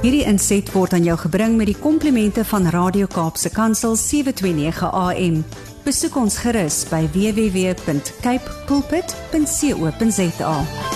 Hierdie inset word aan jou gebring met die komplimente van Radio Kaapse Kansel 729 AM. Besoek ons gerus by www.capepulpit.co.za.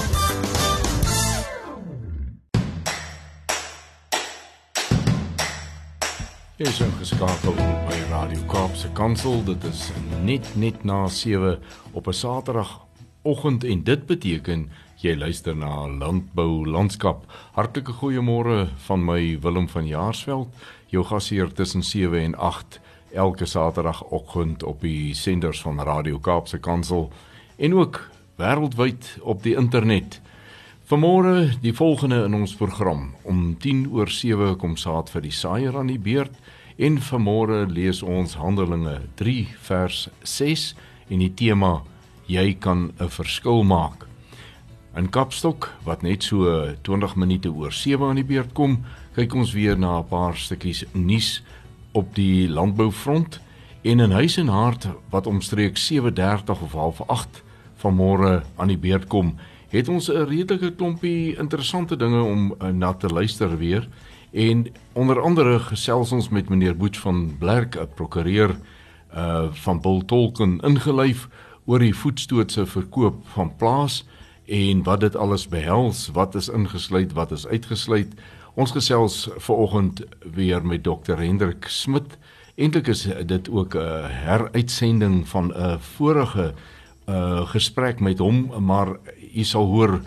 Jy is ingeskakel by Radio Kaapse Kansel. Dit is net na 7 op 'n Saterdagoggend en dit beteken jy luister na Landbou Landskap. Hartlike goeiemôre van my Willem van Jaarsveld, jou gasheer tussen 7 en 8 elke Saterdagoggend op die senders van Radio Kaapse Kansel en ook wêreldwyd op die internet. Vanmôre die volgende in ons program. Om 6:10 kom saad vir die saaier aan die beurt en vanmôre lees ons Handelinge 3 vers 6 en die tema Jy kan 'n verskil maak. In Kapstok, wat net so 20 minute oor 7 aan die beurt kom, kyk ons weer na 'n paar stukkies nuus op die landboufront en in Huis en Hart wat omstreeks 7:30 of 7:30 vanmôre aan die beurt kom, het ons 'n redelike klompie interessante dinge om na te luister weer en onder andere gesels ons met meneer Boets van Blerk, 'n prokureur van Bultolken ingelyf oor die voetstootse verkoop van plaas en wat dit alles behels, wat is ingesluit, wat is uitgesluit. Ons gesels vanoggend weer met Dr. Hendrik Smit. Eintlik is dit ook 'n heruitsending van 'n vorige gesprek met hom, maar jy sal hoor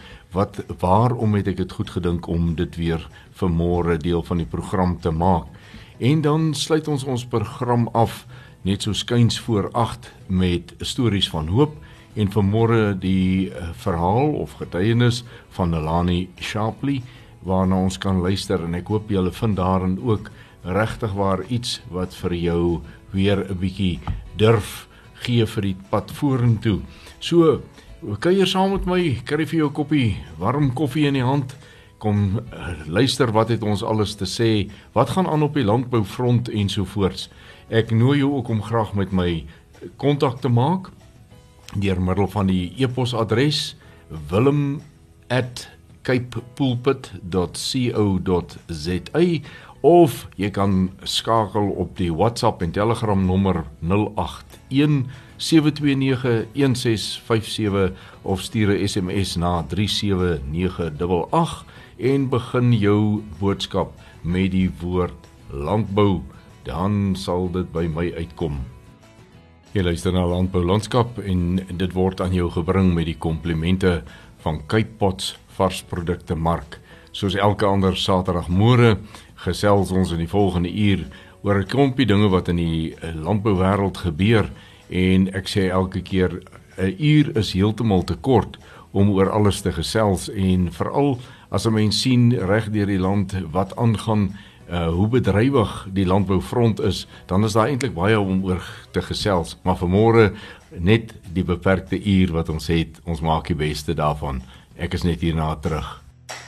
waarom het ek dit goed gedink om dit weer vanmôre deel van die program te maak. En dan sluit ons program af net so skuins voor 8 met stories van hoop en vanmôre die verhaal of getuienis van Nelani Shapley waarna ons kan luister en ek hoop julle vind daarin ook regtig waar iets wat vir jou weer 'n bietjie durf gee vir die pad vorentoe. So, kuier saam met my, kry vir jou 'n koppie warm koffie in die hand, kom luister wat het ons alles te sê, wat gaan aan op die landboufront ensovoorts. Ek nooi jou ook om graag met my kontak te maak, deur middel van die e-posadres willem@capepulpit.co.za of jy kan skakel op die WhatsApp en Telegram nommer 081-729-1657 of stuur 'n SMS na 37988 en begin jou boodskap met die woord landbou, dan sal dit by my uitkom. Jy luister na Landbou Landskap en dit word aan jou gebring met die komplimente van Cape Pots varsprodukte mark. Soos elke ander Saterdagmôre gesels ons in die volgende uur oor 'n klompie dinge wat in die landbouwêreld gebeur en ek sê elke keer 'n uur is heeltemal te kort om oor alles te gesels en veral as 'n mens sien reg deur die land wat aangaan, hoe bedrywig die landboufront is, dan is daar eintlik baie om oor te gesels, maar vanmôre net die beperkte uur wat ons het, ons maak die beste daarvan. Ek is net hierna terug.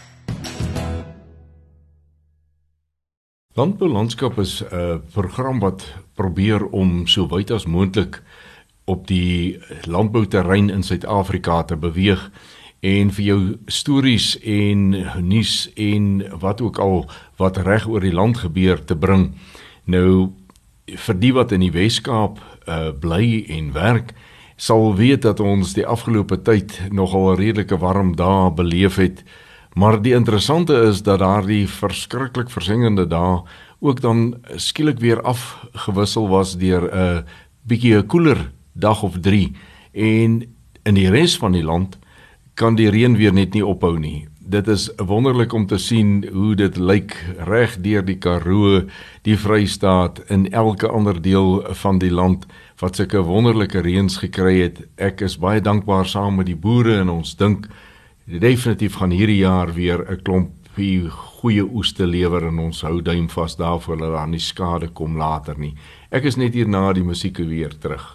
Landbou Landskap is 'n program wat probeer om so wyd as moontlik op die landbouterrein in Suid-Afrika te beweeg en vir jou stories en nuus en wat ook al wat reg oor die land gebeur te bring. Nou, vir die wat in die Weskaap bly en werk, sal weet dat ons die afgelope tyd nogal 'n redelike warm dae beleef het, maar die interessante is dat daar die verskriklik versengende dae ook dan skielik weer afgewissel was deur 'n bietjie 'n koeler dag of 3 en in die res van die land kan die reën weer net nie ophou nie. Dit is wonderlik om te sien hoe dit lyk reg deur die Karoo, die Vrystaat en elke ander deel van die land wat sulke wonderlike reëns gekry het. Ek is baie dankbaar saam met die boere en ons dink definitief gaan hierdie jaar weer 'n klompie goeie oes te lewer en ons hou duim vas daarvoor dat daar nie skade kom later nie. Ek is net hier na die musiek weer terug.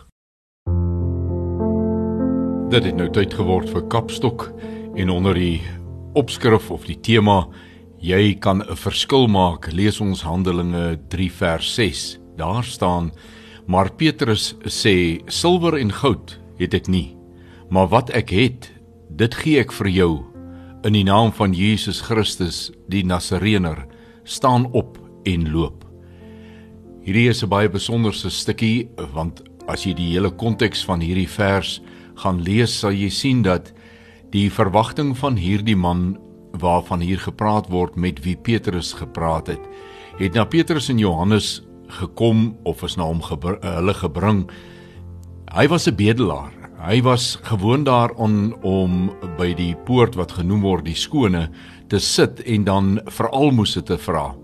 Dit het nou tyd geword vir Kapstok en onder die opskrif of die tema Jy kan 'n verskil maak, lees ons Handelinge 3 vers 6. Daar staan, maar Petrus sê, silwer en goud het ek nie, maar wat ek het, dit gee ek vir jou, in die naam van Jesus Christus, die Nasarener, staan op en loop. Hierdie is 'n baie besonderse stukkie, want as jy die hele konteks van hierdie vers gaan lees, sal jy sien dat die verwagting van hierdie man, waarvan hier gepraat word, met wie Petrus gepraat het na Petrus en Johannes gekom, of is na hom hulle gebring. Hy was 'n bedelaar. Hy was gewoon daaraan om by die poort wat genoem word die skone te sit en dan vir almoses te vra.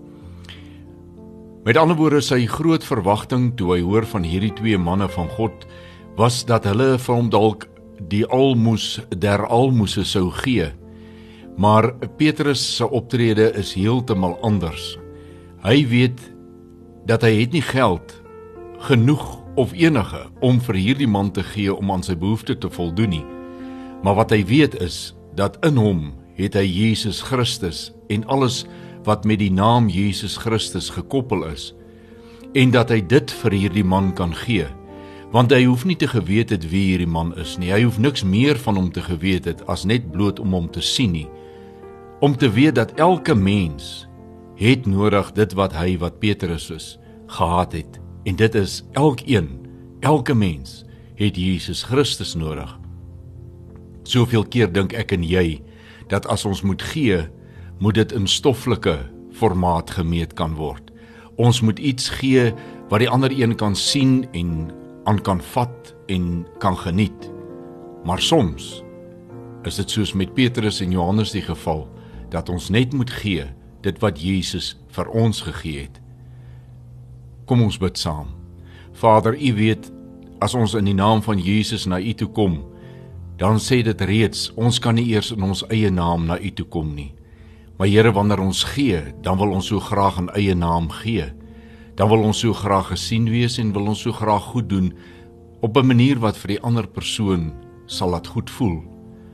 Met ander woorde, sy groot verwagting toe hy hoor van hierdie twee manne van God, was dat hulle vir hom dalk die almoes der almoese sou gee. Maar Petrus se optrede is heeltemal anders. Hy weet dat hy het nie geld genoeg of enige om vir hierdie man te gee om aan sy behoefte te voldoen nie. Maar wat hy weet is, dat in hom het hy Jesus Christus en alles wat met die naam Jesus Christus gekoppel is, en dat hy dit vir hierdie man kan gee, want hy hoef nie te geweet het wie hierdie man is nie, hy hoef niks meer van hom te geweet het, as net bloot om hom te sien nie, om te weet dat elke mens het nodig dit wat hy, wat Petrus is, gehad het, en dit is elke mens het Jesus Christus nodig. Soveel keer dink ek en jy, dat as ons moet gee, moet dit in stoffelike formaat gemeet kan word. Ons moet iets gee wat die ander een kan sien en aan kan vat en kan geniet. Maar soms is dit soos met Petrus en Johannes die geval, dat ons net moet gee dit wat Jesus vir ons gegee het. Kom ons bid saam. Vader, U weet, as ons in die naam van Jesus na U toe kom, dan sê dit reeds, ons kan nie eers in ons eie naam na U toe kom nie. Maar Here, wanneer ons gee, dan wil ons so graag in eie naam gee. Dan wil ons so graag gesien wees en wil ons so graag goed doen op 'n manier wat vir die ander persoon sal laat goed voel.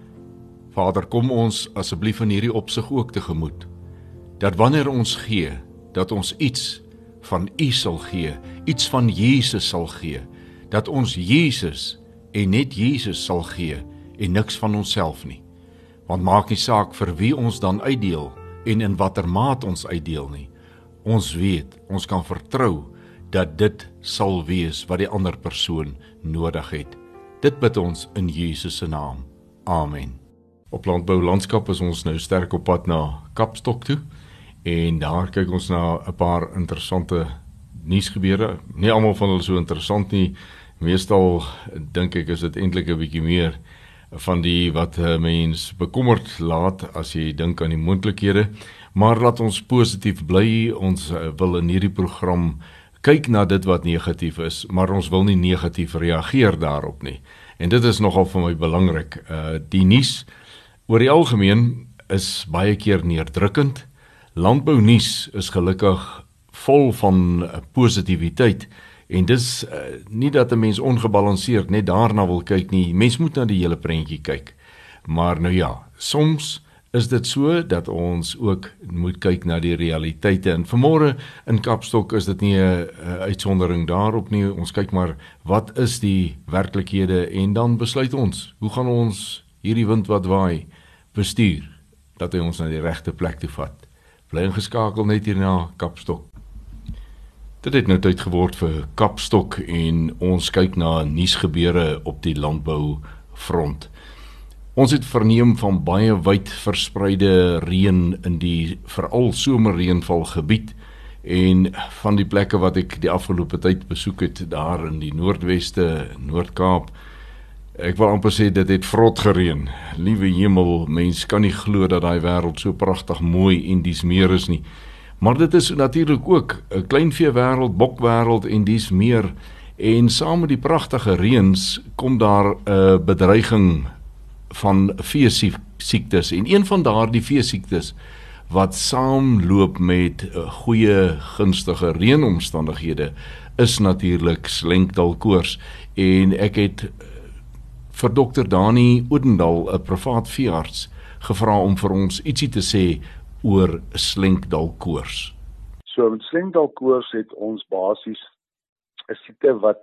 Vader, kom ons asseblief in hierdie opsig ook tegemoet, dat wanneer ons gee, dat ons iets van U sal gee, iets van Jesus sal gee, dat ons Jesus en net Jesus sal gee en niks van onsself nie. Want maak nie saak vir wie ons dan uitdeel en in watter maat ons uitdeel nie. Ons weet, ons kan vertrou dat dit sal wees wat die ander persoon nodig het. Dit bid ons in Jesus se naam. Amen. Op Landbou Landskap is ons nou sterk op pad na Kapstok toe en daar kyk ons na 'n paar interessante nuusgebeure. Nie almal van hulle so interessant nie. Meestal dink ek is dit eintlik 'n bietjie meer van die wat mens bekommerd laat as jy dink aan die moontlikhede. Maar laat ons positief bly. Ons wil in hierdie program kyk na dit wat negatief is, maar ons wil nie negatief reageer daarop nie. En dit is nogal vir my belangrik. Die nuus oor die algemeen is baie keer neerdrukkend. Landbou nuus is gelukkig vol van positiwiteit. En dis nie dat 'n mens ongebalanseerd net daarna wil kyk nie. Mens moet na die hele prentjie kyk. Maar nou ja, soms is dit so dat ons ook moet kyk na die realiteite. En vanmôre in Kapstok is dit nie 'n uitsondering daarop nie. Ons kyk maar wat is die werklikhede en dan besluit ons, hoe gaan ons hierdie wind wat waai bestuur, dat hy ons na die regte plek toe vat. Bly ingeskakel net hier na Kapstok. Dit het nou tyd geword vir Kapstok en ons kyk na nuusgebeure op die landboufront. Ons het verneem van baie wyd verspreide reën in die veral somerreënvalgebied en van die plekke wat ek die afgelope tyd besoek het daar in die Noordweste, Noord-Kaap. Ek wil amper sê dit het vrot gereën. Liewe hemel, mens kan nie glo dat daai wêreld so pragtig mooi en dies meer is nie. Maar dit is natuurlik ook 'n kleinveewêreld, bokwêreld en dies meer. En saam met die pragtige reëns kom daar 'n bedreiging van veesiektes. En een van daardie veesiektes wat saamloop met goeie gunstige reënomstandighede is natuurlik slenkdalkoors. En ek het vir Dr. Dani Oudendal, 'n privaat veearts, gevra om vir ons ietsie te sê oor slenkdalkoors. So met slenkdalkoors het ons basies 'n siekte wat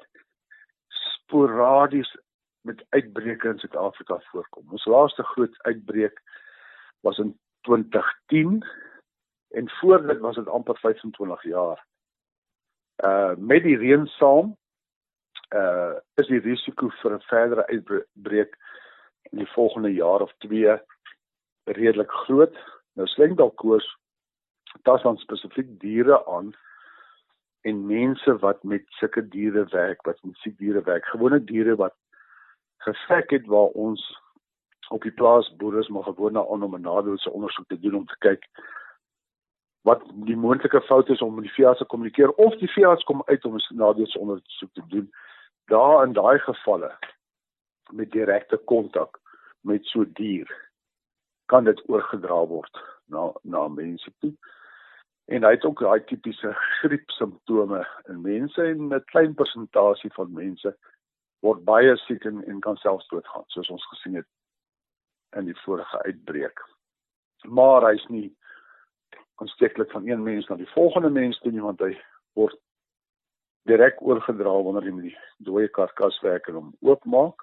sporadies met uitbreke in Suid-Afrika voorkom. Ons laaste groot uitbreek was in 2010 En voor dit was dit amper 25 jaar. Met die reën saam, is die risiko vir 'n verdere uitbreek in die volgende jaar of 2 redelik groot. Nou slengdalkoors tas dan spesifiek diere aan en mense wat met sulke diere werk, wat met siek diere werk, gewone diere wat gevek het waar ons op die plaas boere is maar gewoon aan om 'n nadeelse ondersoek te doen om te kyk wat die moontlike fout is om met die veearts te kommunikeer of die veearts kom uit om 'n nadeelse ondersoek te doen. Daar in daai gevalle met direkte kontak met so 'n dier kan dit oorgedra word na mense toe. En hy het ook daai tipiese griepsimptome in mense en 'n klein persentasie van mense word baie siek en kan selfs doodgaan, soos ons gesien het in die vorige uitbreek. Maar hy's nie aansteeklik van een mens na die volgende mens toe nie, want hy word direk oorgedra wanneer jy met die dooie karkas werk en hom oopmaak.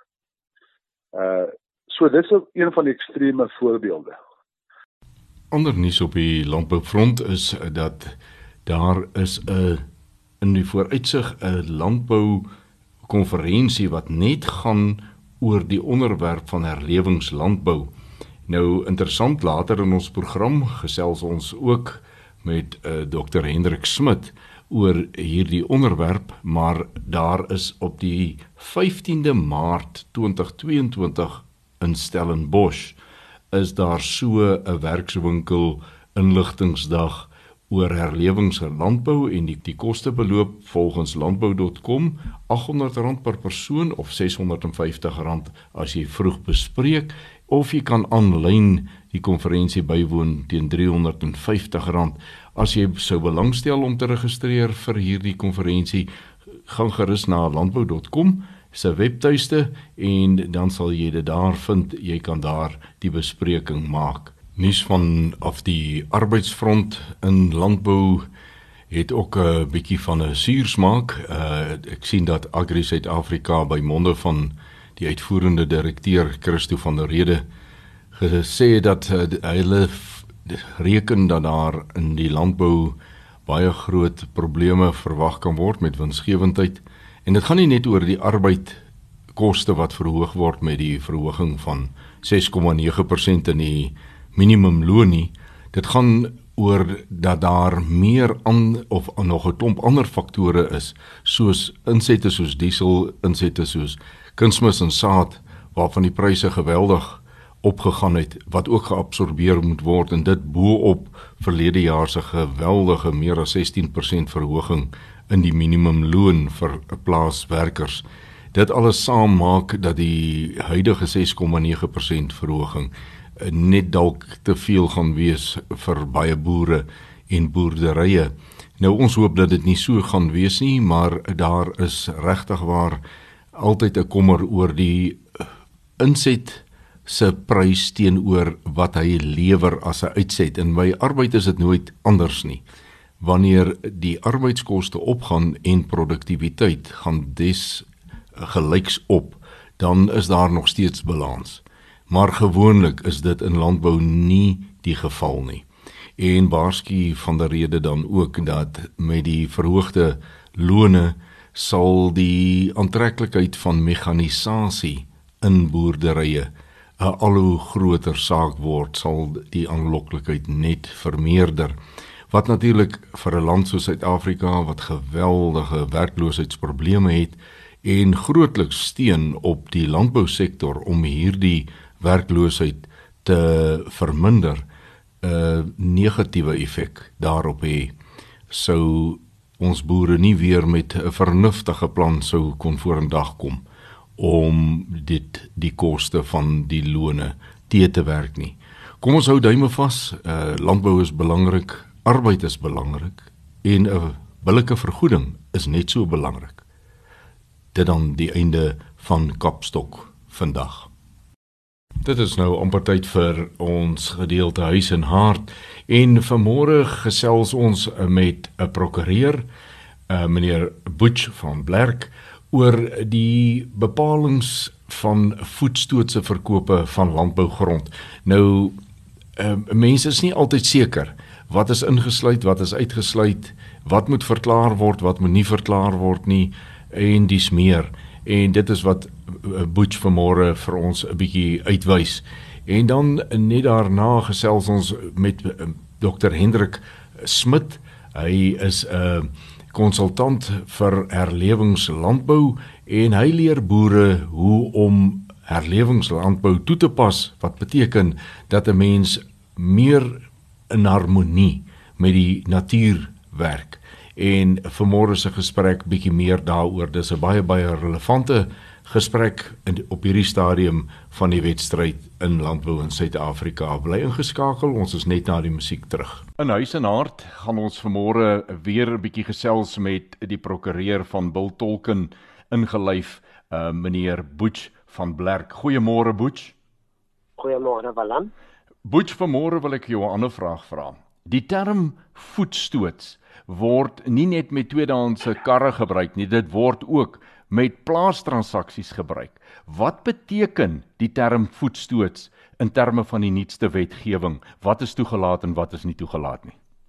So dit is een van die ekstreme voorbeelde. Ander nuus op die landboufront is dat daar is in die vooruitsig 'n landboukonferensie wat net gaan oor die onderwerp van herlewingslandbou. Nou interessant, later in ons program gesels ons ook met Dr. Hendrik Smit oor hierdie onderwerp, maar daar is op die 15de Maart 2022 in Stellenbosch is daar so 'n werkswinkel inligtingsdag oor herlewingslandbou en die koste beloop volgens landbou.com R800 per persoon of R650 as jy vroeg bespreek, of jy kan aanlyn die konferensie bywoon teen R350. As jy sou belangstel om te registreer vir hierdie konferensie, gaan gerus na landbou.com se webtuiste en dan sal jy dit daar vind. Jy kan daar die bespreking maak. Nuus van af die arbeidsfront in landbou het ook 'n bietjie van 'n suursmaak. Ek sien dat Agri Suid-Afrika by monde van die uitvoerende direkteur Christo van der Rede gesê dat hulle reken dat daar in die landbou baie groot probleme verwag kan word met winsgewendheid. En dit gaan nie net oor die arbeidkoste wat verhoog word met die verhoging van 6,9% in die minimumloon nie. Dit gaan oor dat daar meer of nog 'n klomp ander faktore is, soos insette soos diesel, insette soos kunsmis en saad, waarvan die pryse geweldig opgegaan het, wat ook geabsorbeer moet word, en dit bo-op verlede jaar se geweldige meer as 16% verhoging in die minimumloon vir plaaswerkers. Dit alles saam maak dat die huidige 6,9% verhoging net dalk te veel gaan wees vir baie boere en boerderye. Nou ons hoop dat dit nie so gaan wees nie, maar daar is regtig waar altyd 'n kommer oor die inset se prys teenoor wat hy lewer as 'n uitset. En by arbeid is dit nooit anders nie. Wanneer die arbeidskoste opgaan en produktiwiteit gaan des gelyks op, dan is daar nog steeds balans. Maar gewoonlik is dit in landbou nie die geval nie. En waarsku van der Rede dan ook dat met die verhoogde lone sal die aantreklikheid van mekanisasie in boerderye 'n al hoe groter saak word, sal die aanloklikheid net vermeerder. Wat natuurlik vir 'n land soos Suid-Afrika wat geweldige werkloosheidsprobleme het en grootliks steun op die landbousektor om hierdie werkloosheid te verminder, 'n negatiewe effek daarop hê. Sou ons boere nie weer met 'n vernuftige plan sou kon vorendag kom om die koste van die lone te werk nie. Kom ons hou duime vas, landbou is belangrik, arbeid is belangrik en 'n billike vergoeding is net so belangrik. Dit dan die einde van Kapstok vandag. Dit is nou amper tyd vir ons gedeelte Huis en Hart en vanmôre gesels ons met 'n prokureur, meneer Butch van Blerk, oor die bepalings van voetstootse verkope van landbougrond. Nou, mense is nie altyd seker wat is ingesluit, wat is uitgesluit, wat moet verklaar word, wat moet nie verklaar word nie, en dis meer. En dit is wat Butch vanmôre vir ons 'n bietjie uitwys. En dan net daarna gesels ons met Dr. Hendrik Smit. Hy is 'n konsultant vir herlewingslandbou en hy leer boere hoe om herlewingslandbou toe te pas, wat beteken dat 'n mens meer in harmonie met die natuur werk. En vanmôre se gesprek bietjie meer daaroor. Dis 'n baie relevante gesprek op hierdie stadium van die wedstryd in landbou in Suid-Afrika. Bly ingeskakel, ons is net na die musiek terug. In Huis en Hart gaan ons vanmôre weer 'n bietjie gesels met die prokureur van Bultolken ingelyf, meneer Butch van Blerk. Goeiemôre Butch. Goeiemôre Willem. Butch, vanmôre wil ek jou 'n ander vraag vra. Die term voetstoots word nie net met tweedehandse karre gebruik nie, dit word ook met plaastransaksies gebruik. Wat beteken die term voetstoots in terme van die nuutste wetgewing? Wat is toegelaat en wat is nie toegelaat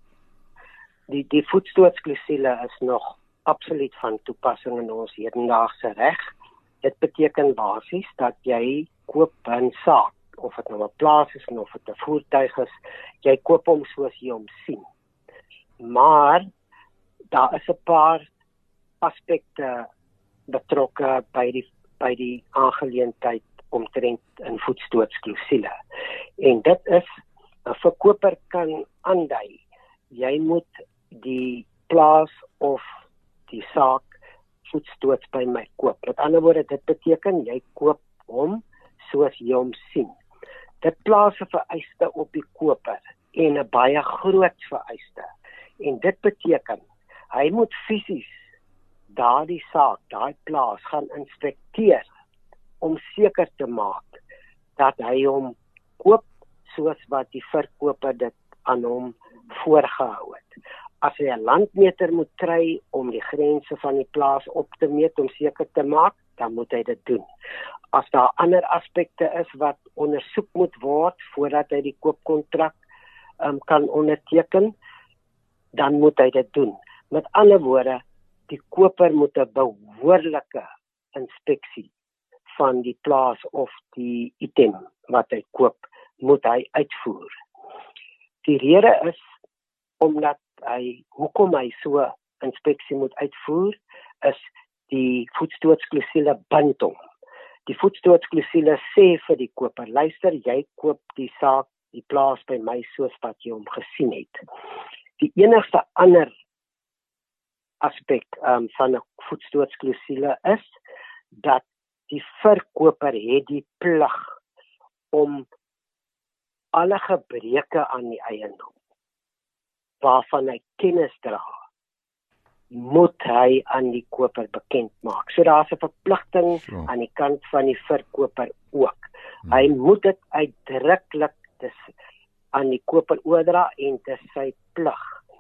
nie? Die voetstootsklausule is nog absoluut van toepassing in ons hedendaagse reg. Dit beteken basies dat jy koop 'n saak, of dit nou 'n plaas is en of dit 'n voertuig is, jy koop hom soos jy hom sien. Maar daar is 'n paar aspekte betrokke by die aangeleentheid omtrent 'n voetstootsklausule. En dit is 'n verkoper kan aandui, jy moet die plaas of die saak voetstoots by my koop. Met ander woorde, dit beteken jy koop hom soos jy hom sien. Dit plaas 'n vereiste op die koper en 'n baie groot vereiste. En dit beteken hy moet fisies daardie saak, daai plaas gaan inspekteer om seker te maak dat hy hom koop soos wat die verkoper dit aan hom voorgehou het. As hy 'n landmeter moet kry om die grense van die plaas op te meet om seker te maak, dan moet hy dit doen. As daar ander aspekte is wat ondersoek moet word voordat hy die koopkontrak kan onderteken, dan moet hy dit doen. Met ander woorde, die koper moet 'n behoorlike inspeksie van die plaas of die item wat hy koop, moet hy uitvoer. Die rede is omdat hoekom hy so inspeksie moet uitvoer, is die voetstootsklausule bind hom. Die voetstootsklausule sê vir die koper, luister, jy koop die saak, die plaas by my soos wat jy hom gesien het. Die enigste ander aspek van 'n voetstootsklausule is dat die verkoper het die plig om alle gebreke aan die eiendom waarvan hy kennis dra, moet hy aan die koper bekend maak. So daar's 'n verpligting aan die kant van die verkoper ook. Hy moet dit uitdruklik aan die koper oordra en dit is sy plig.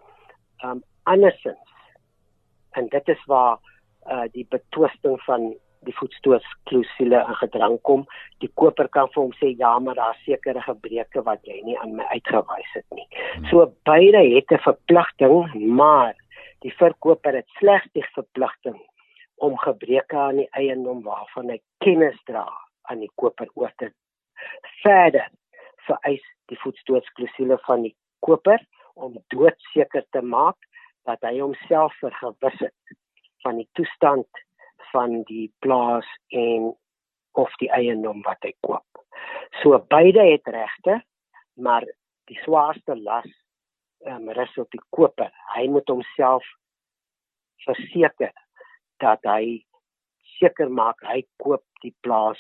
Andersins, en dit is waar die betwisting van die voetstootsklausule in gedrang kom, die koper kan vir hom sê, ja, maar daar is sekere gebreke wat jy nie aan my uitgewys het nie. So beide het 'n verpligting, maar die verkoper het slegs die verpligting om gebreke aan die eiendom waarvan hy kennis dra aan die koper oor te. Verder vereis die voetstootsklausule van die koper om doodseker te maak dat hy homself vergewis het van die toestand van die plaas en of die eiendom wat hy koop. So beide het regte, maar die swaarste las rus op die koper. Hy moet homself verseker dat hy seker maak hy koop die plaas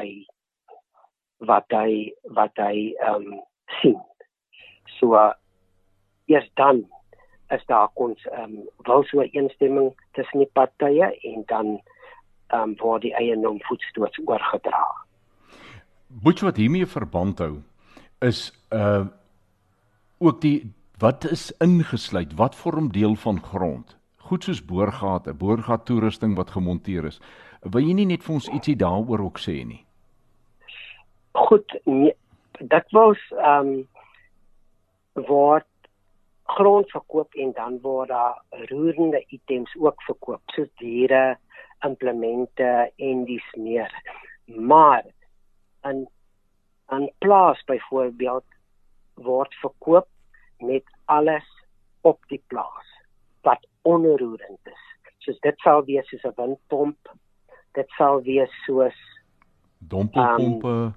wat hy sien. So eers dan is daar wilsooreenstemming tussen die partye en dan word die eiendom voetstoots oorgedra. Butch, wat hiermee verband hou, is ook wat is ingesluit, wat vorm deel van grond? Goed soos boorgate, boorgat toerusting wat gemonteer is. Wil jy nie net vir ons ietsie daaroor ook sê nie? Goed, dit was word grond verkoop en dan word daar roerende items ook verkoop, soos diere, implemente en dies meer. Maar in plaas byvoorbeeld word verkoop met alles op die plaas wat onroerend is. Soos dit sal wees soos 'n windpomp, dit sal wees soos Dompelpompe,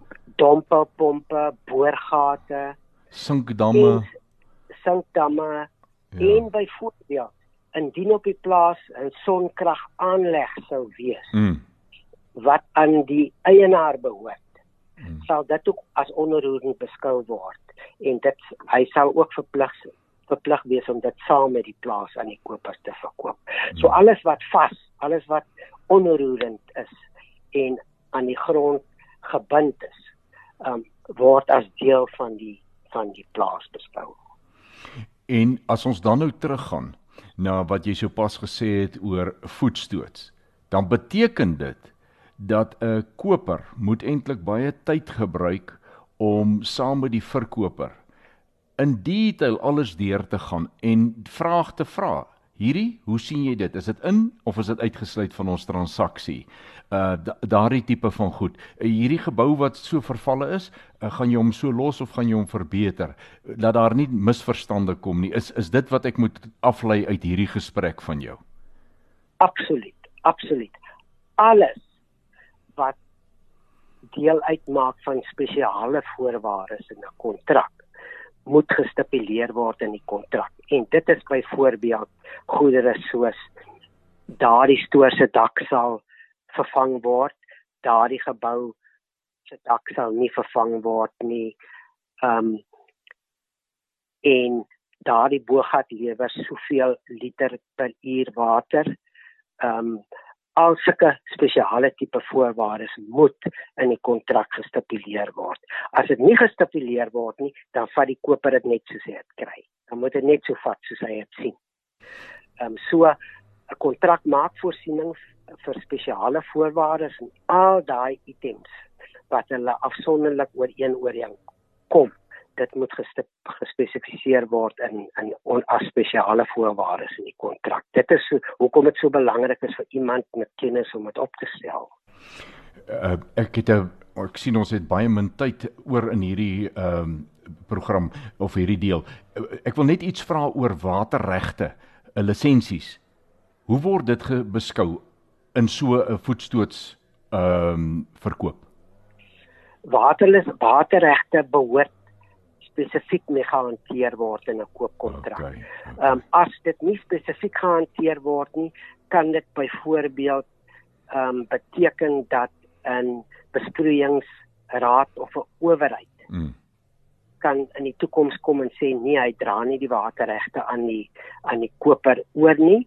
boorgate, sinkdamme, en byvoorbeeld indien op die plaas 'n sonkrag aanleg sou wees wat aan die eienaar behoort, sal dit ook as onroerend beskou word en hy sal ook verplig wees om dit saam met die plaas aan die kopers te verkoop. So alles wat onroerend is en aan die grond gebind is, word as deel van die plaas beskou. En as ons dan nou teruggaan na wat jy sopas gesê het oor voetstoots, dan beteken dit dat 'n koper moet eintlik baie tyd gebruik om saam met die verkoper in detail alles deur te gaan en vraag te vra. Hierdie, hoe sien jy dit? Is dit in of is dit uitgesluit van ons transaksie? Daardie tipe van goed. Hierdie gebou wat so vervalle is, gaan jy hom so los of gaan jy hom verbeter? Dat daar nie misverstande kom nie. Is dit wat ek moet aflei uit hierdie gesprek van jou? Absoluut. Alles wat deel uitmaak van spesiale voorwaardes in 'n kontrak moet gestipuleer word in die kontrak. En dit is byvoorbeeld goedere soos daardie stoor se dak sal vervang word, daardie gebou se dak sal nie vervang word nie, en daardie bogat lewer soveel liter per uur water. Al sulke spesiale tipe voorwaardes moet in die kontrak gestipuleer word. As dit nie gestipuleer word nie, dan vat die koper dit net soos hy dit kry. Dan moet dit net so vat soos hy dit sien. So 'n kontrak maak voorsiening vir spesiale voorwaardes en al daai items wat hulle afsonderlik ooreenkom. Dit moet gespesifiseer word in as spesiale voorwaardes in die kontrak. Dit is hoekom dit so belangrik is vir iemand met kennis om dit op te stel. Ek sien ons het baie min tyd oor in hierdie program of hierdie deel. Ek wil net iets vra oor waterregte, lisensies. Hoe word dit beskou in so 'n voetstoots verkoop? Waterregte behoort spesifiek mee gehanteer word in 'n koopkontrak. Okay. As dit nie spesifiek gehanteer word nie, kan dit byvoorbeeld beteken dat 'n besproeiingsraad of 'n owerheid kan in die toekoms kom en sê nee, hy dra nie die waterregte aan die koper oor nie.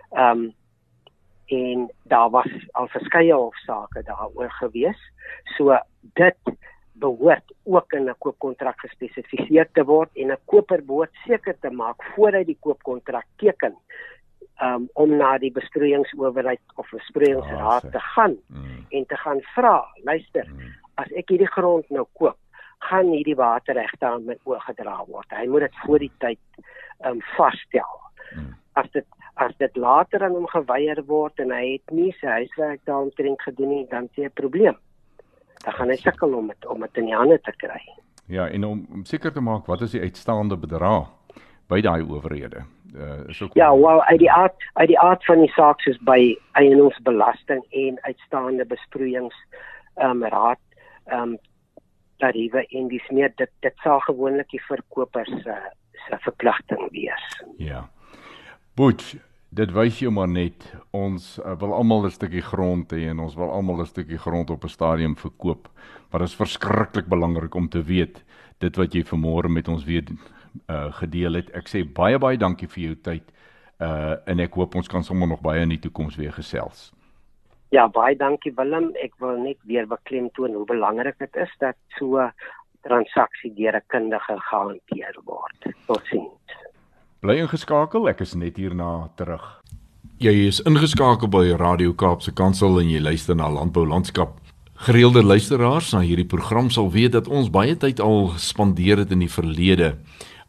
En daar was al verskeie hofsaake daaroor gewees. So dit behoort ook in 'n koopkontrak gespesifiseer te word en 'n koper behoort seker te maak voor hy die koopkontrak teken om na die besproeiingsowerheid of besproeiingsraad te gaan en te gaan vra, luister, as ek hierdie grond nou koop, gaan hierdie waterregte aan my oorgedra word. Hy moet dit voor die tyd vasstel. As dit later aan hom geweier word en hy het nie sy huiswerk daaromtrent gedoen nie, dan is 'n probleem. Dan gaan hy sukkel om dit in die hande te kry. Ja, en om seker te maak wat is die uitstaande bedrag by daai owerhede. Ja, wel uit die aard van die saak soos by eiendomsbelasting en uitstaande besproeiingsraad tariewe en dis meer dit sal gewoonlik die verkopers se verpligting wees. Ja. Boet, dit wys jou maar net, ons wil almal 'n stukkie grond hê en ons wil almal 'n stukkie grond op 'n stadium verkoop. Maar dit is verskriklik belangrik om te weet, dit wat jy vanmôre met ons weer gedeel het. Ek sê baie dankie vir jou tyd en ek hoop ons kan sommer nog baie in die toekoms weer gesels. Ja, baie dankie Willem. Ek wil net weer beklemtoon hoe belangrik dit is dat so 'n transaksie deur 'n kundige gehanteer word. Totsiens. Bly ingeskakel, ek is net hierna terug. Jy is ingeskakel by Radio Kaapse Kansel en jy luister na Landbou Landskap. Gereelde luisteraars na hierdie program sal weet dat ons baie tyd al spandeer het in die verlede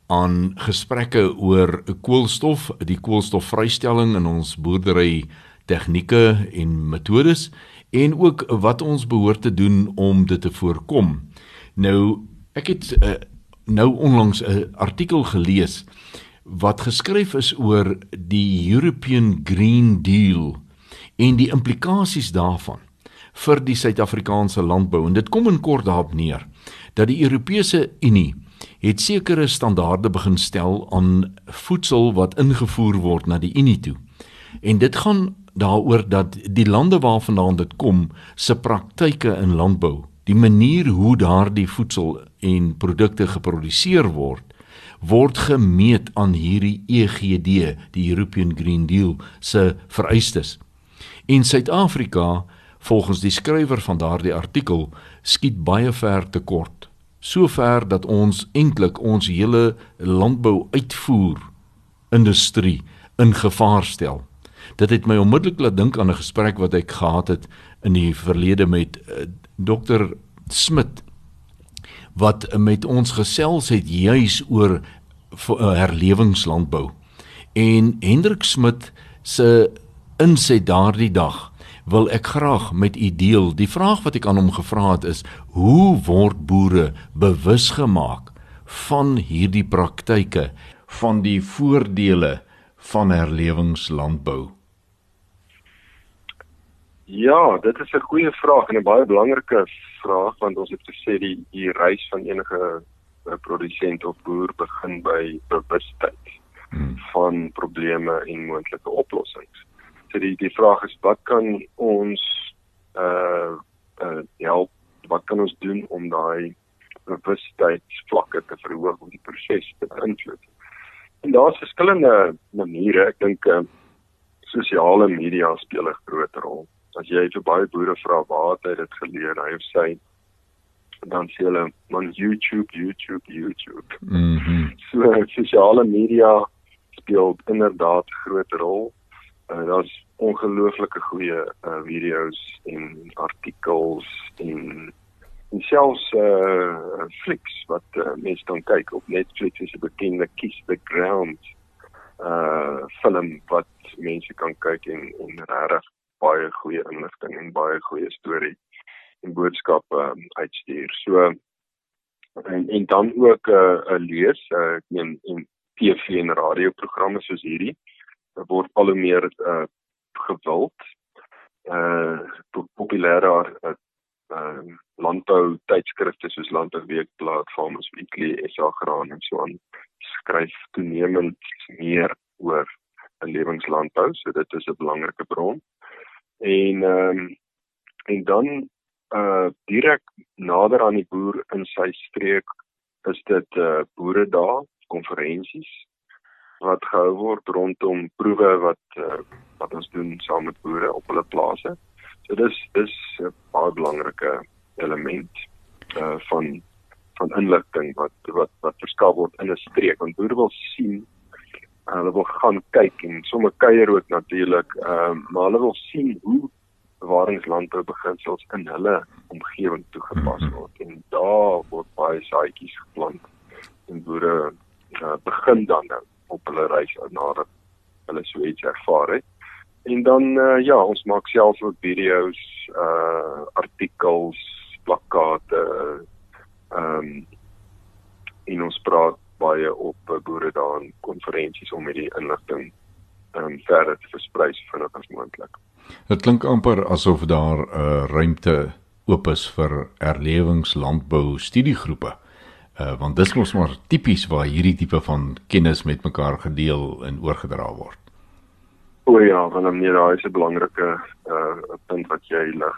aan gesprekke oor koolstof, die koolstofvrystelling in ons boerdery tegnieke en metodes en ook wat ons behoort te doen om dit te voorkom. Nou, ek het nou onlangs 'n artikel gelees wat geskryf is oor die European Green Deal en die implikasies daarvan vir die Suid-Afrikaanse landbou. En dit kom in kort daarop neer dat die Europese Unie het sekere standaarde begin stel aan voedsel wat ingevoer word na die Unie toe. En dit gaan daaroor dat die lande waarvandaan dit kom, se praktyke in landbou, die manier hoe daardie voedsel en produkte geproduseer word gemeet aan hierdie EGD, die European Green Deal, se vereistes. En Suid-Afrika, volgens die skrywer van daardie artikel, skiet baie ver tekort. So ver dat ons eintlik ons hele landbou-uitvoer industrie in gevaar stel. Dit het my onmiddellik laat dink aan 'n gesprek wat ek gehad het in die verlede met Dr. Smit, wat met ons gesels het juis oor herlewingslandbou. En Hendrik Smit se inset daardie dag wil ek graag met u deel. Die vraag wat ek aan hom gevra het is, hoe word boere bewus gemaak van hierdie praktyke, van die voordele van herlewingslandbou? Ja, dit is 'n goeie vraag en 'n baie belangrike vraag, want ons het gesê die reis van enige produsent of boer begin by bewustheid van probleme en moontlike oplossings. So die vraag is, wat kan ons help, wat kan ons doen om daai bewustheidsvlakke te verhoog om die proses te beïnvloed? En daar's verskillende maniere. Ek dink sosiale media speel 'n groot rol. As jy vir baie boere vra waar het hy dit geleer, hy of sy, dan sê hulle, man, YouTube. So sosiale media speel inderdaad 'n groot rol. Daar's ongelooflike goeie video's en artikels en selfs flieks wat mense kan kyk. Op Netflix is 'n bekende Kiss the Ground film wat mense kan kyk en regtig baie goeie inligting en baie goeie storie en boodskappe uitstuur. So en dan ook lees en TV en radioprogramme soos hierdie word al hoe meer gewild. Populêre landbou tydskrifte soos Landbou Weekblad, Farmers Weekly, SA Graan en so aan skryf toenemend meer oor herlewingslandbou, so dit is 'n belangrike bron. En dan direk nader aan die boer in sy streek is dit boeredae, konferensies wat gehou word rondom proewe wat ons doen saam met boere op hulle plase. So dis 'n baie belangrike element van inligting wat verskaf word in 'n streek, want boere wil sien, hulle wil gaan kyk en sommer kuier ook natuurlik, maar hulle wil sien hoe bewaringslandbou beginsels in hulle omgewing toegepas word, en daar word baie saadjies geplant en boere begin dan nou op hulle reis nadat hulle so iets ervaar het. En dan, ons maak self ook video's, artikels, plakkate, en ons praat baie op boeredae en konferensies om hierdie inligting verder te versprei so vinnig as moontlik. Dit klink amper asof daar ruimte oop is vir herlewingslandbou studiegroepe. Want dis mos maar tipies waar hierdie tipe van kennis met mekaar gedeel en oorgedra word. O ja, want nee, daar is 'n belangrike punt wat jy lig.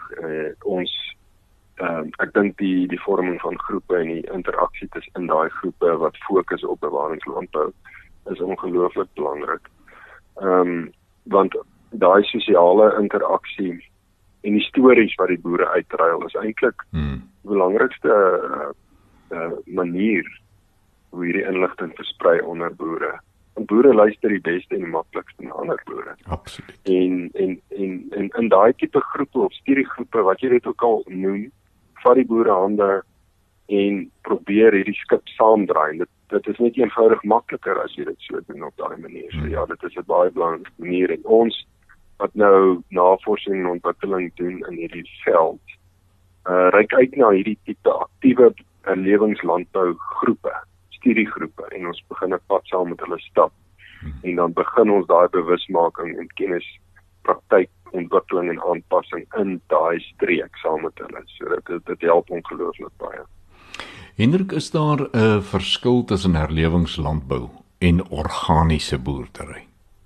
Ek dink die vorming van groepe en die interaksie tussen daai groepe wat fokus op bewaringslandbou is ongelooflik belangrik. Want daai sosiale interaksie en die stories wat die boere uitruil is eintlik die belangrikste manier hoe hierdie inligting versprei onder boere. En boere luister die beste en die maklikste na ander boere. Absoluut. En in daai tipe groepe of studiegroepe wat jy dit ook al noem, vat die boere hande en probeer hierdie skip saamdraai. dit is net eenvoudig makliker as jy dit so doen op daai manier. So ja, dit is 'n baie belangrike manier en ons wat nou navorsing en ontwikkeling doen in hierdie veld, reik uit na hierdie tipe aktiewe herlewingslandbou groepe, studiegroepe en ons begin 'n pad saam met hulle stap. En dan begin ons daai bewusmaking en kennis, praktyk, ontwikkeling en aanpassing in daai streek saam met hulle. So dit help ongelooflik baie. Hendrik, is daar 'n verskil tussen herlewingslandbou en organiese boerdery?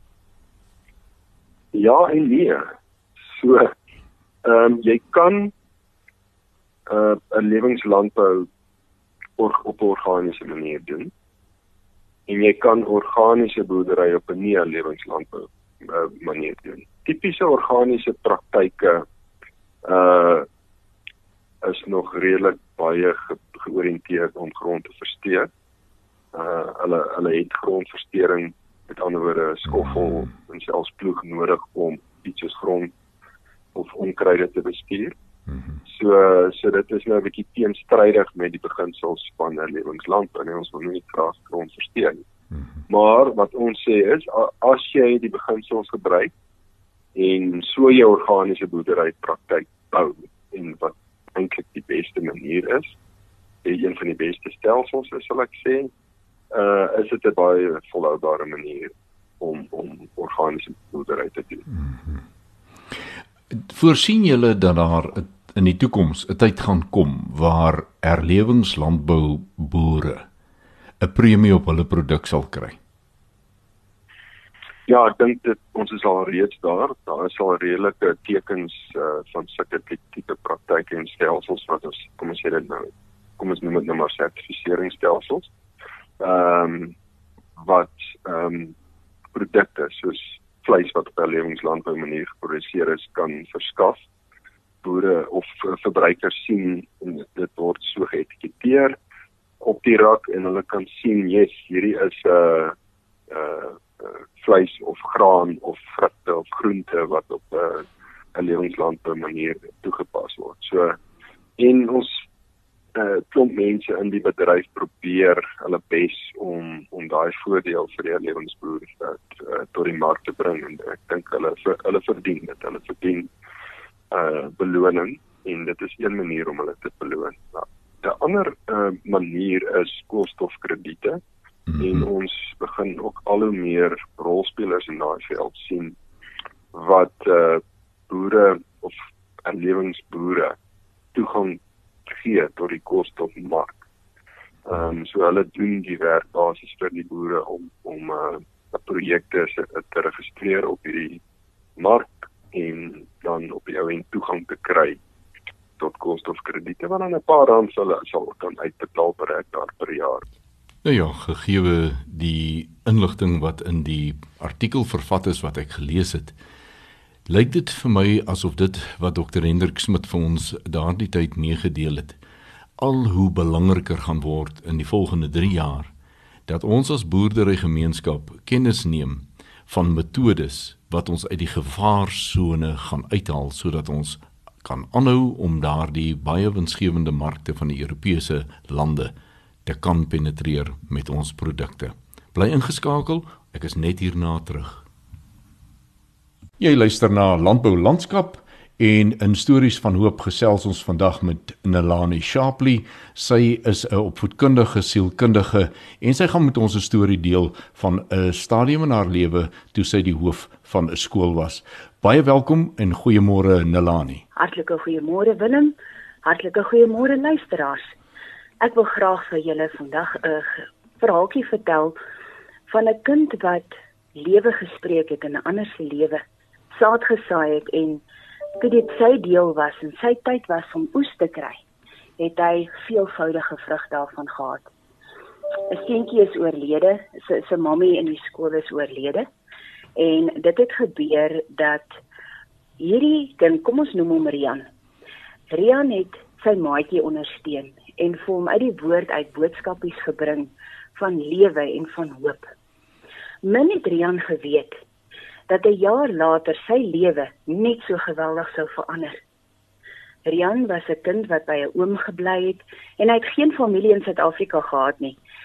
Ja en nee. So, jy kan 'n herlewingslandbou op 'n organiese manier doen. En jy kan organiese boerdery op 'n nie-herlewingslandbou manier doen. Tipiese organiese praktyke is nog redelik baie georiënteerd om grond te versteur. Hulle het grondversteuring, met ander woorde skoffel en selfs ploeg nodig om iets soos grond of onkruide te bestuur. So dit is nou 'n bietjie teenstrydig met die beginsels van herlewingslandbou en ons wil nie graag grond versteur nie. Maar wat ons sê is, as jy die beginsels gebruik en so jou organiese boerdery praktyk bou en wat eintlik die beste manier is, een van die beste stelsels is, sal ek sê, is dit 'n baie volhoubare manier om organiese boerdery te doen. Voorsien julle dat daar in die toekoms 'n tyd gaan kom waar herlewingslandbou boere 'n premie op hulle produk sal kry? Ja, ek dink dit ons is al reeds daar. Daar is al redelike tekens van sulke tipe praktyke en stelsels wat ons, kom ons noem dit nou maar sertifiseringsstelsels. Wat produkte soos vleis wat op 'n herlewingslandbou manier geproduseer is, kan verskaf. Boere of verbruikers sien en dit word so geetiketeer op die rak en hulle kan sien, yes, hierdie is vleis of graan of vrugte of groente wat op 'n herlewingslandbou manier toegepas word. So en ons klomp mense in die bedryf probeer hulle bes om daai voordeel vir die herlewingsboer tot die mark te bring en ek dink hulle verdien dit. Hulle verdien beloning en dit is een manier om hulle te beloon. Nou, 'n ander manier is koolstofkrediete en ons begin ook al hoe meer rolspelers in daai veld sien wat boere of herlewingsboere toegang gee tot die koolstofmark. So hulle doen die werk basies vir die boere om projekte te registreer op hierdie mark en dan op die ou end toegang te kry tot koolstofkrediete wat dan 'n paar rand sal kan uitbetaal per hektaar per jaar. Nou ja, gegee die inligting wat in die artikel vervat is wat ek gelees het, lyk dit vir my asof dit wat Dr. Hendrik Smit vir ons daardie tyd meegedeel het, al hoe belangriker gaan word in die volgende 3 jaar, dat ons as boerderygemeenskap kennis neem van metodes wat ons uit die gevaarsone gaan uithaal, sodat ons kan aanhou om daardie baie winsgewende markte van die Europese lande te kan penetreer met ons produkte. Bly ingeskakel, ek is net hierna terug. Jy luister na Landbou Landskap en in Stories van Hoop gesels ons vandag met Nelani Shapley. Sy is 'n opvoedkundige sielkundige en sy gaan met ons 'n storie deel van 'n stadium in haar lewe toe sy die hoof van 'n skool was. Baie welkom en goeiemôre Nelani. Hartlike goeiemôre Willem. Hartlike goeiemôre luisteraars. Ek wil graag vir julle vandag 'n verhaaltjie vertel van 'n kind wat lewe gespreek het in 'n ander se lewe, saad gesaai het en toe dit sy deel was en sy tyd was om oes te kry, het hy veelvoudige vrug daarvan gehad. 'n Seentjie is oorlede, sy mammie in die skool is oorlede en dit het gebeur dat hierdie kind, kom ons noem hom Rian. Rian het sy maatjie ondersteun en vir hom uit die woord uit boodskapies gebring van lewe en van hoop. Min het Rian geweet dat 'n jaar later sy lewe net so geweldig sou verander. Rian was 'n kind wat by 'n oom gebly het en hy het geen familie in Suid-Afrika gehad nie.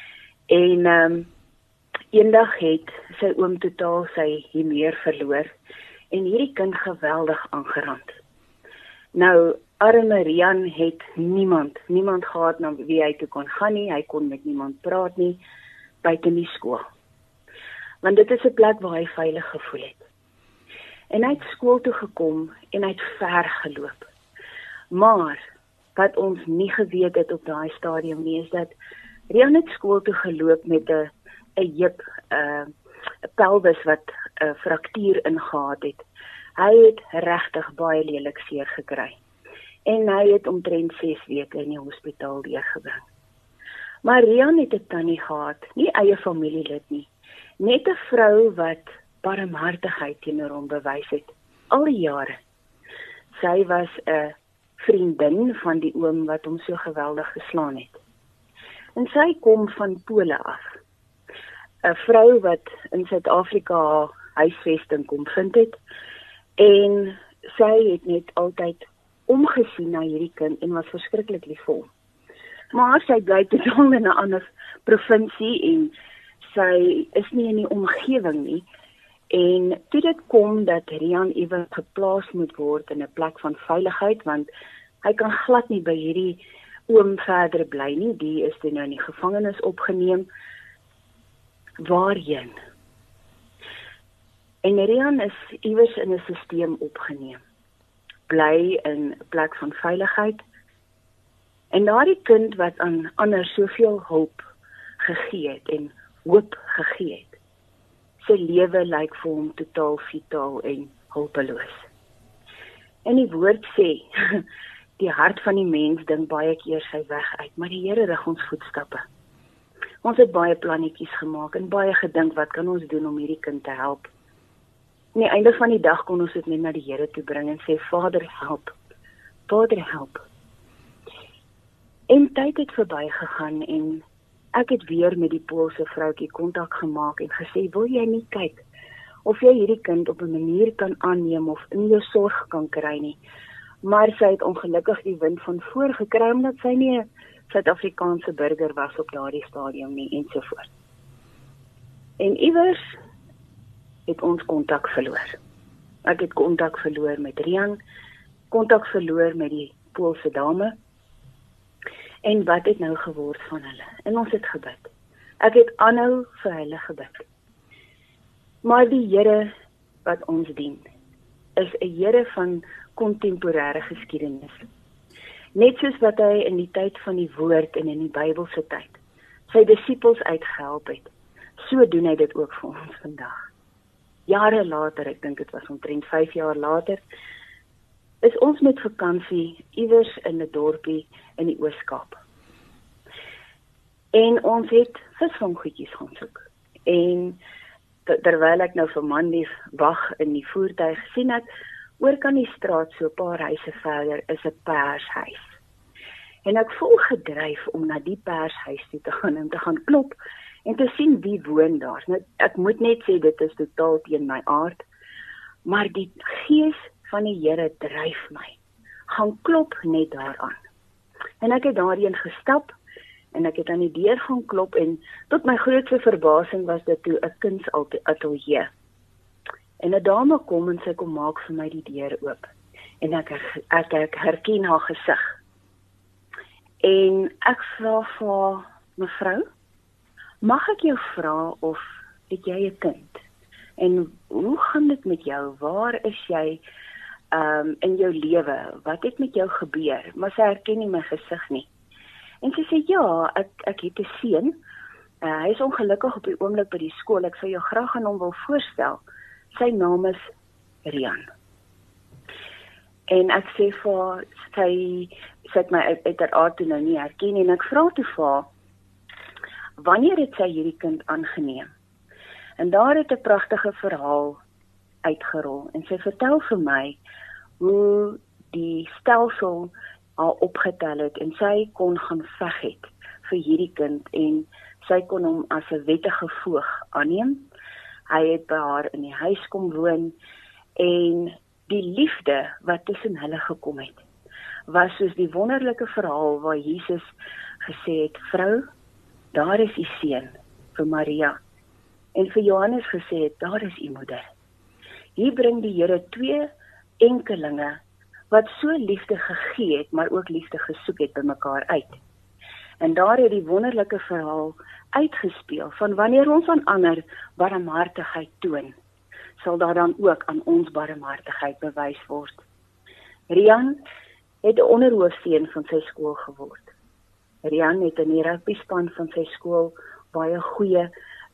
En eendag het sy oom totaal sy humeur verloor en hierdie kind geweldig aangerand. Nou, arme Rian het niemand gehad na wie hy toe kon gaan nie, hy kon met niemand praat nie, buite die skool. Want dit is 'n plek waar hy veilig gevoel het. En hy het skool toe gekom en hy het ver geloop. Maar, wat ons nie geweet het op daai stadium nie, is dat Rian het skool toe geloop met 'n heup, 'n pelvis wat 'n fraktuur ingehaat het. Hy het regtig baie lelik seer gekry. En hy het omtrent 6 weke in die hospitaal deurgebring. Maar Rian het 'n tannie gehad, nie eie familielid nie, net 'n vrou wat barmhartigheid teenoor hom bewys het, al die jare. Sy was 'n vriendin van die oom wat hom so geweldig geslaan het. En sy kom van Pole af. 'n Vrou wat in Suid-Afrika haar huisvesting kom vind het, en sy het net altyd omgesien na hierdie kind en was verskriklik lief vir hom. Maar sy bly totaal in 'n ander provinsie en sy is nie in die omgewing nie. En toe dit kom dat Rian iewers geplaas moet word in 'n plek van veiligheid, want hy kan glad nie by hierdie oom verder bly nie, die is toe nou in die gevangenis opgeneem. Waarheen? En Rian is iewers in 'n stelsel opgeneem. Bly in 'n plek van veiligheid. En daardie kind wat aan ander soveel hulp gegee het en hoop gegee het, sy lewe lyk vir hom totaal vitaal en hulpeloos. En die woord sê, die hart van die mens dink baie keer sy weg uit, maar die Here rig ons voetstappe. Ons het baie plannetjies gemaak en baie gedink, wat kan ons doen om hierdie kind te help? Aan die einde van die dag kon ons dit net na die Here toe bring en sê, Vader, help. Vader, help. En tyd het verbygegaan en ek het weer met die Poolse vroutjie kontak gemaak en gesê, wil jy nie kyk of jy hierdie kind op 'n manier kan aanneem of in jou sorg kan kry nie. Maar sy het ongelukkig die wind van voor gekry omdat sy nie 'n Suid-Afrikaanse burger was op daardie stadium nie ensovoort. En iewers het ons kontak verloor. Ek het kontak verloor met Rian, kontak verloor met die Poolse dame. En wat het nou geword van hulle? En ons het gebid. Ek het aanhou vir hulle gebid. Maar die Here wat ons dien, is 'n Here van kontemporêre geskiedenis. Net soos wat hy in die tyd van die woord en in die Bybelse tyd sy disippels uitgehelp het, so doen hy dit ook vir ons vandag. Jare later, ek dink dit was omtrent 5 jaar later, is ons met vakansie iewers in 'n dorpie in die Oos-Kaap. En ons het visvanggoedjies gaan soek. En terwyl ek nou vir Mandy wag in die voertuig gesien het, oor kan die straat so 'n paar huise verder is 'n pershuis. En ek voel gedryf om na die pershuis toe te gaan en te gaan klop en te sien wie woon daar. Nou, ek moet net sê dit is totaal teen my aard, maar die gees van die Here dryf my. Gaan klop net daaraan. En ek het daarheen gestap en ek het aan die deur gaan klop en tot my grootste verbasing was dit toe 'n kunsatelier. En 'n dame kom en sy kom maak vir my die deur oop. En ek herken haar gesig. En ek vra vir haar, mevrou, mag ek jou vra of het jy 'n kind? En hoe gaan dit met jou? Waar is jy in jou lewe? Wat het met jou gebeur? Maar sy herken nie my gesig nie. En sy sê, ja, ek het 'n seun. Hy is ongelukkig op die oomblik by die skool. Ek sou jou graag aan hom wil voorstel. Sy naam is Rian. En ek sê vir haar, sy het my uiteraard toe nou nie herken nie, en ek vra toe vir haar, wanneer het sy hierdie kind aangeneem? En daar het 'n pragtige verhaal uitgerol, en sy vertel vir my hoe die stelsel haar opgetel het, en sy kon gaan veg het vir hierdie kind, en sy kon hom as 'n wettige voog aanneem. Hy het by haar in die huis kom woon, en die liefde wat tussen hulle gekom het, was soos die wonderlike verhaal waar Jesus gesê het, vrou, daar is u seun, vir Maria, en vir Johannes gesê het, daar is u moeder. Hier bring die Here 2 enkelinge, wat so liefde gegee het, maar ook liefde gesoek het by mekaar uit. En daar het die wonderlike verhaal uitgespeel, van wanneer ons aan ander barmhartigheid toon, sal daar dan ook aan ons barmhartigheid bewys word. Rian het 'n onderhoofseun van sy skool geword. Rian het in die rugbyspan van sy skool baie goeie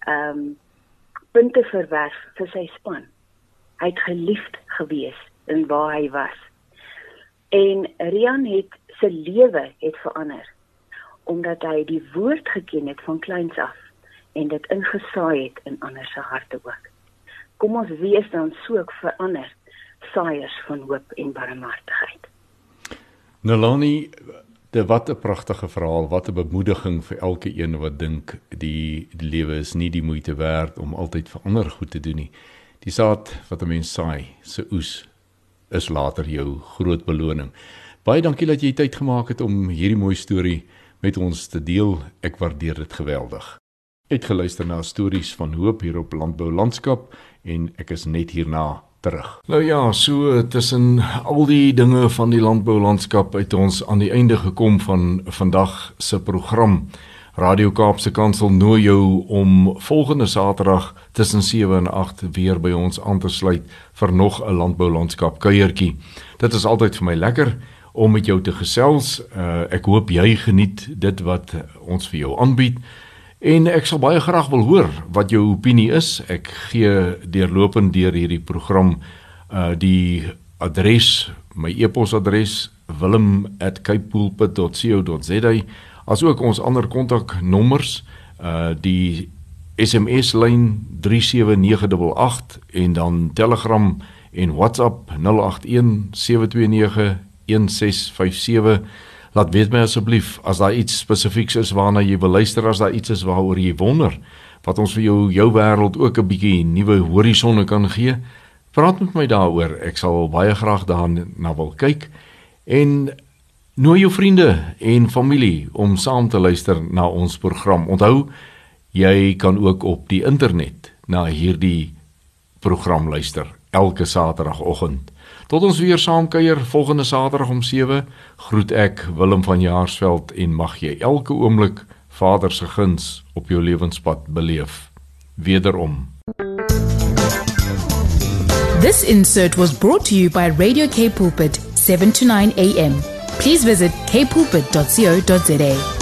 punte verwerf vir sy span. Hy het geliefd gewees in waar hy was. En Rian het sy lewe het verander, omdat hy die woord geken het van kleins af, en dit ingesaai het in ander se harte ook. Kom ons wees dan so ook verander, saaiers van hoop en barmhartigheid. Nalani, wat 'n pragtige verhaal, wat 'n bemoediging vir elke een wat dink die lewe is nie die moeite werd om altyd vir ander goed te doen nie. Die saad wat 'n mens saai, se oes, is later jou groot beloning. Baie dankie dat jy tyd gemaak het om hierdie mooi storie met ons te deel. Ek waardeer dit geweldig. Uitgeluister na stories van hoop hier op Landbou Landskap en ek is net hierna terug. Nou ja, so tussen al die dinge van die landbou landskap het ons aan die einde gekom van vandag se program. Radio Kaapse Kansel nooi jou om volgende Saterdag tussen 7 en 8 weer by ons aan te sluit vir nog 'n landbou landskap kuiertjie. Dit is altyd vir my lekker om met jou te gesels. Ek hoop jy geniet dit wat ons vir jou aanbied. En ek sal baie graag wil hoor wat jou opinie is. Ek gee deurlopend deur hierdie program die adres, my e-posadres willem@capepulpit.co.za, as ook ons ander kontaknommers, die SMS-lyn 37988 en dan Telegram en WhatsApp 081-729-1657. Laat weet my asseblief, as daar iets spesifieks is waarna jy wil luister, as daar iets is waaroor jy wonder, wat ons vir jou wêreld ook 'n bietjie nuwe horisonne kan gee, praat met my daaroor. Ek sal baie graag daarna wil kyk. En nooi jou vriende en familie om saam te luister na ons program. Onthou, jy kan ook op die internet na hierdie program luister, elke Saterdagoggend. Tot ons weer saamkuier volgende Saterdag om 7, groet ek Willem van Jaarsveld en mag jy elke oomblik Vader se guns op jou lewenspad beleef. Wederom. This insert was brought to you by Radio Cape Pulpit, 7 to 9 a.m. Please visit capepulpit.co.za.